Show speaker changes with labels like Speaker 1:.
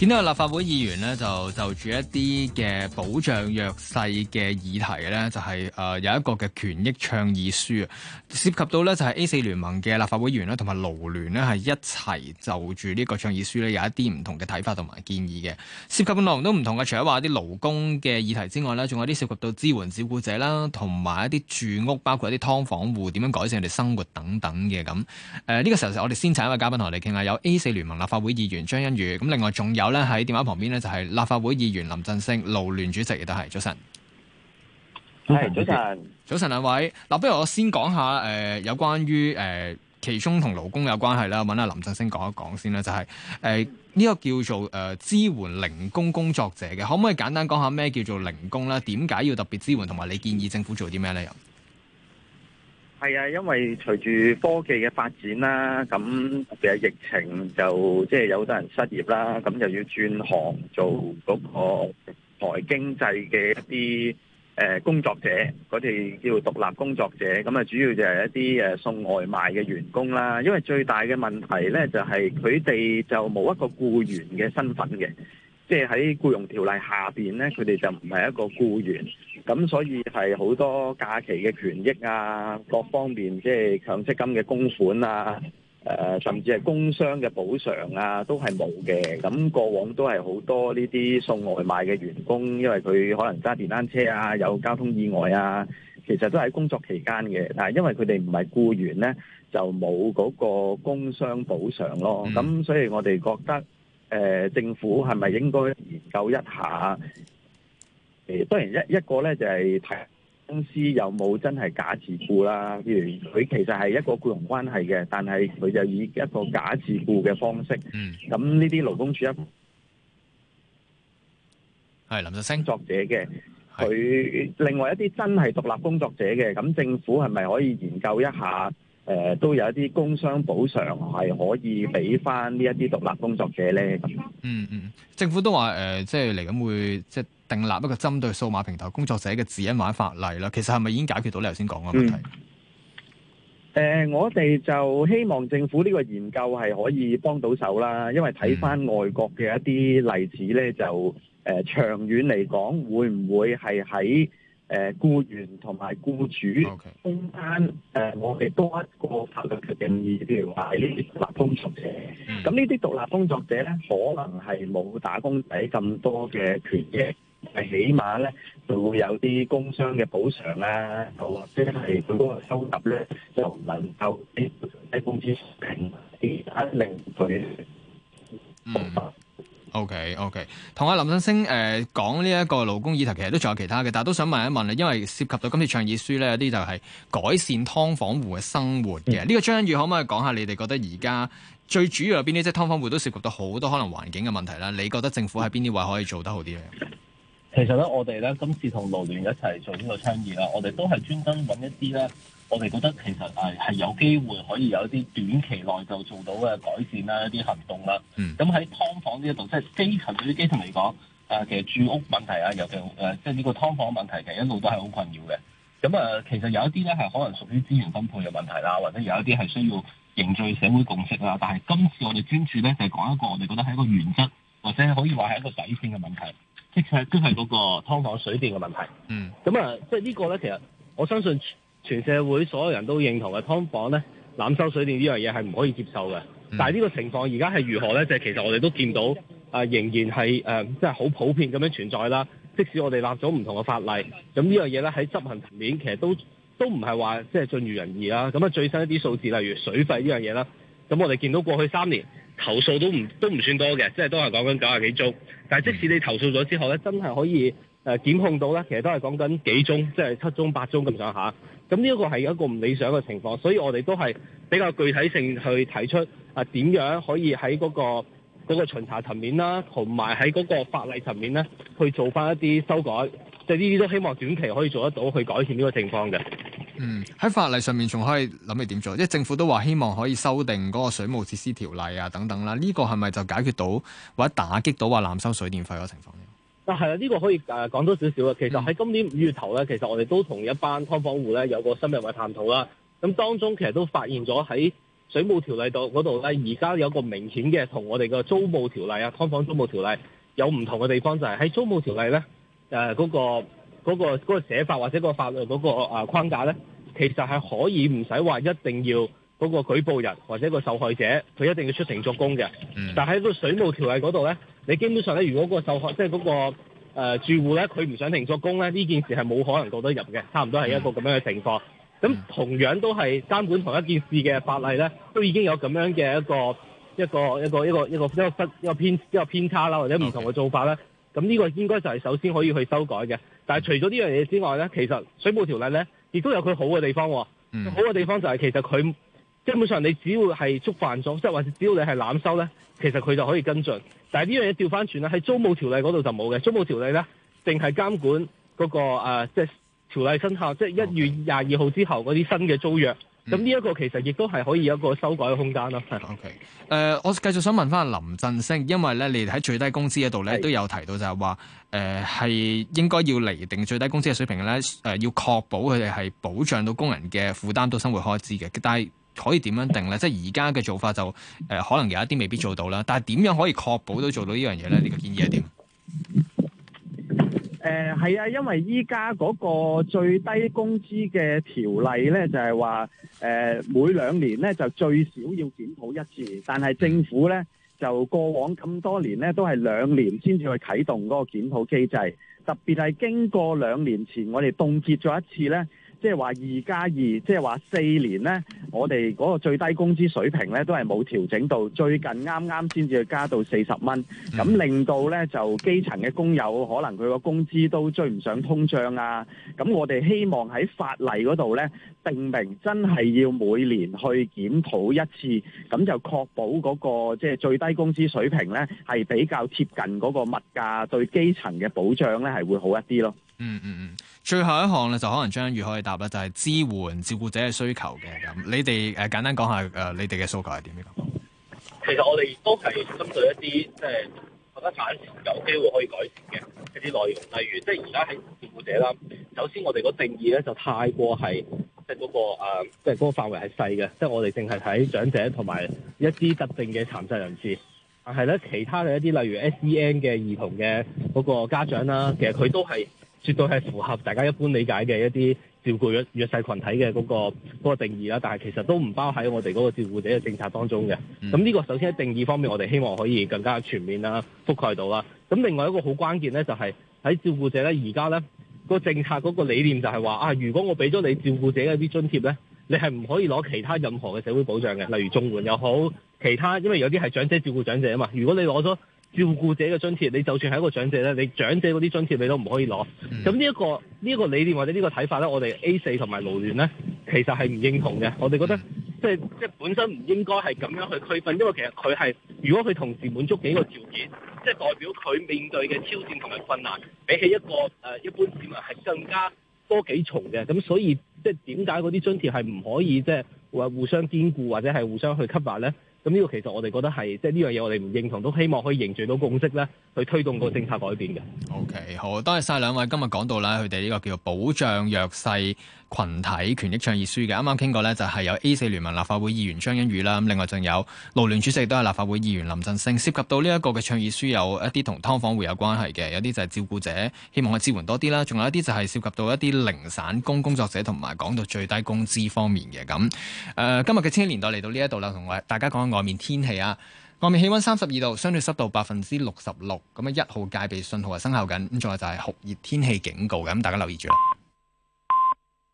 Speaker 1: 見到有立法會議員咧，就住一啲嘅保障弱勢嘅議題咧，就係有一個嘅權益倡議書啊，涉及到咧就係 A4 聯盟嘅立法會議員咧，同埋勞聯咧係一齊就住呢個倡議書咧有一啲唔同嘅睇法同埋建議嘅，涉及嘅內容都唔同嘅。除咗話啲勞工嘅議題之外咧，仲有啲涉及到支援照顧者啦，同埋一啲住屋，包括一啲劏房戶點樣改善佢哋生活等等嘅咁。呢個時候我哋先請一位嘉賓同我哋傾下，有 A4 聯盟立法會議員張欣宇，咁另外仲有咧喺電話旁邊咧就係立法會議員林振昇，勞聯主席亦都係。早晨，早晨兩位。嗱，不如我先講下有關於其中同勞工有關係啦，揾阿林振昇講一講先啦，就係呢個叫做支援零工工作者嘅，可唔可以簡單講下咩叫做零工咧？點解要特別支援，同埋你建議政府做啲咩咧？又
Speaker 2: 係啊，因為隨住科技嘅發展啦，咁特別係疫情就即係有好多人失業啦，咁就要轉行做嗰個台經濟嘅一啲工作者，嗰啲叫獨立工作者，咁啊主要就係一啲送外賣嘅員工啦。因為最大嘅問題咧就係佢哋就冇一個僱員嘅身份嘅，即係喺僱傭條例下邊咧，佢哋就唔係一個僱員。咁所以係好多假期嘅權益啊，各方面即係強積金嘅供款啊，甚至係工傷嘅補償啊，都係冇嘅。咁過往都係好多呢啲送外賣嘅員工，因為佢可能揸電單車啊，有交通意外啊，其實都喺工作期間嘅。但係因為佢哋唔係僱員咧，就冇嗰個工傷補償咯。咁所以我哋覺得政府係咪應該研究一下？當然一個咧就係睇公司有冇真係假自僱啦。譬如佢其實係一個僱傭關係嘅，但係佢就以一個假自僱嘅方式。咁呢啲勞工處
Speaker 1: 係林振昇
Speaker 2: 作者嘅，佢另外一啲真係獨立工作者嘅，咁政府係咪可以研究一下？都有一啲工傷補償係可以俾翻呢一啲獨立工作者咧。
Speaker 1: 政府都話即係嚟緊會即係訂立一個針對數碼平台工作者嘅指引或者法例啦。其實係咪已經解決到你頭先講嘅問題？
Speaker 2: 我哋就希望政府呢個研究係可以幫到手啦，因為睇翻外國嘅一啲例子咧，就長遠嚟講，會唔會係喺僱員同埋僱主中間我哋多一個法律嘅定義，譬如話係呢啲獨立工作者。咁呢啲獨立工作者咧，可能係冇打工仔咁多嘅權益，係起碼咧就會有啲工傷嘅補償啦，又或者係佢嗰個收入咧就唔能夠比低工資水平，令佢
Speaker 1: OK， 同阿林振昇講呢一個勞工議題，其實都仲有其他嘅，但係都想問一問，因為涉及到今次倡議書咧，有啲就係改善劏房戶嘅生活嘅。呢個張欣宇可唔可以講下你哋覺得而家最主要有邊啲？即係劏房戶都涉及到好多可能環境嘅問題啦。你覺得政府喺邊啲位可以做得好啲咧？
Speaker 3: 其實咧，我哋咧今次同勞聯一齊做呢個倡議啦，我哋都係專登揾一啲咧，我哋覺得其實係有機會可以有一啲短期內就做到嘅改善啦，一啲行動啦。咁喺劏房呢一度，即係基層對於基層嚟講，其實住屋問題啊，尤其即係呢個劏房問題，其實一路都係好困擾嘅。咁其實有一啲咧係可能屬於資源分配嘅問題啦，或者有一啲係需要凝聚社會共識啦。但係今次我哋專注咧就係講一個我哋覺得係一個原則，或者可以話係一個底線嘅問題。即係都係嗰個劏房水電嘅問題。即係呢個咧，其實我相信全社會所有人都認同嘅，劏房咧濫收水電呢樣嘢係唔可以接受嘅。但係呢個情況而家係如何咧？就係其實我哋都見到仍然係即係好普遍咁樣存在啦。即使我哋立咗唔同嘅法例，咁呢樣嘢咧喺執行層面其實都唔係話即係盡如人意啦。咁最新一啲數字，例如水費呢樣嘢啦，咁我哋見到過去3年投訴都唔算多嘅，即係都係講緊90幾宗。但係即使你投訴咗之後咧，真係可以檢控到咧，其實都係講緊幾宗，即係7宗8宗咁上下。咁呢一個係一個唔理想嘅情況，所以我哋都係比較具體性去提出點樣可以喺嗰個巡查層面啦，同埋喺嗰個法例層面咧去做翻一啲修改。即係呢啲都希望短期可以做得到，去改善呢個情況嘅。
Speaker 1: 喺法例上面仲可以諗你點做？即係政府都話希望可以修訂嗰個水務設施條例啊等等啦。呢個係咪就解決到或者打擊到話濫收水電費嗰個情況咧？
Speaker 3: 係啊，呢個可以講多少少啊。其實喺今年5月頭咧，其實我哋都同一班劏房戶咧有個深入嘅探討啦。咁當中其實都發現咗喺水務條例嗰度咧，而家有個明顯嘅同我哋嘅租務條例啊、劏房租務條例有唔同嘅地方，就係喺租務條例咧，嗰個寫法或者個法律嗰個框架咧，其實係可以唔使話一定要嗰個舉報人或者個受害者佢一定要出庭作供嘅。但喺個水務條例嗰度咧，你基本上咧，如果個受害即係嗰個住戶咧，佢唔上庭作供咧，呢件事係冇可能告得入嘅，差唔多係一個咁樣嘅情況。咁同樣都係監管同一件事嘅法例咧，都已經有咁樣嘅一個偏差啦，或者唔同嘅做法啦。咁呢個應該就係首先可以去修改嘅。但係除咗呢樣嘢之外咧，其實水務條例咧亦都有佢好嘅地方。好嘅地方就係其實佢基本上你只要係觸犯咗，即係或者只要你係濫收咧，其實佢就可以跟進。但係呢樣嘢調翻轉啦，喺租務條例嗰度就冇嘅。租務條例咧，淨係監管嗰個即係條例生效，即係1月22號之後嗰啲新嘅租約。咁呢一個其實亦都係可以有一個修改嘅空間咯。
Speaker 1: OK， 我繼續想問翻林振昇，因為咧你哋喺最低工資嗰度咧都有提到就係話係應該要釐定最低工資嘅水平咧，要確保佢哋係保障到工人嘅負擔到生活開支嘅。但係可以點樣定咧？即係而家嘅做法就可能有一啲未必做到啦。但係點樣可以確保到做到呢樣嘢咧？呢個建議係點？
Speaker 2: 係啊，因為依家嗰個最低工資嘅條例咧，就係話每2年咧就最少要檢討一次，但係政府咧就過往咁多年咧都係2年先至去啟動嗰個檢討機制，特別係經過2年前我哋凍結咗一次咧。即係話2+2，即係話4年呢，我哋嗰個最低工資水平呢都係冇調整到，最近啱啱先至去加到40蚊，咁令到呢就基層嘅工友可能佢個工資都追唔上通脹啊。咁我哋希望喺法例嗰度呢定明真係要每年去檢討一次，咁就確保嗰個即係最低工資水平呢係比較貼近嗰個物價，對基層嘅保障呢係會好一啲咯。
Speaker 1: 最後一項咧就可能張欣宇可以答啦，就係支援照顧者嘅需求嘅。咁你哋簡單講下你哋嘅訴求係點樣？
Speaker 3: 其實我哋亦都係針對一啲即係覺得暫時有機會可以改善嘅一啲內容，例如即係而家喺照顧者啦。首先我哋個定義咧就太過係即係嗰個即係嗰個範圍係細嘅，即係我哋淨係睇長者同埋一啲特定嘅殘疾人士。但係咧其他嘅一啲例如 SEN 嘅兒童嘅嗰個家長啦，其實佢都係絕對係符合大家一般理解嘅一啲照顧弱勢群體嘅嗰個定義啦，但係其實都唔包喺我哋嗰個照顧者嘅政策當中嘅。咁呢個首先喺定義方面，我哋希望可以更加全面啦，覆蓋到啦。咁另外一個好關鍵咧，就係喺照顧者咧，而家咧個政策嗰個理念就係話如果我俾咗你照顧者嘅一啲津貼咧，你係唔可以攞其他任何嘅社會保障嘅，例如綜援又好，其他因為有啲係長者照顧長者啊嘛。如果你攞咗照顧者嘅津貼，你就算係一個長者咧，你長者嗰啲津貼你都唔可以攞。咁呢一個理念或者呢個睇法咧，我哋 A4 同埋勞聯咧，其實係唔認同嘅。我哋覺得即係本身唔應該係咁樣去區分，因為其實佢係如果佢同時滿足幾個條件，即係代表佢面對嘅挑戰同埋困難，比起一個一般市民係更加多幾重嘅。咁所以即係點解嗰啲津貼係唔可以即係話互相兼顧或者係互相去吸納咧？咁呢個其實我哋覺得係即係呢樣嘢我哋唔認同，都希望可以凝聚到共識咧，去推動個政策改變嘅。
Speaker 1: OK， 好，多謝晒兩位今日講到啦，佢哋呢個叫做保障弱勢群體權益倡議書嘅。啱啱傾過咧，就係有 A4 聯盟立法會議員張欣宇啦，咁另外仲有勞聯主席都係立法會議員林振昇。涉及到呢一個嘅倡議書，有一啲同劏房戶有關係嘅，有啲就係照顧者希望去支援多啲啦，仲有一啲就係涉及到一啲零散工工作者同埋講到最低工資方面嘅。咁今日嘅千禧年代嚟到呢一度啦，同大家講下外面天氣啊。外面氣溫32度，相對濕度66%，咁1號戒備信號係生效緊，咁仲有就係酷熱天氣警告嘅，咁大家留意住啦。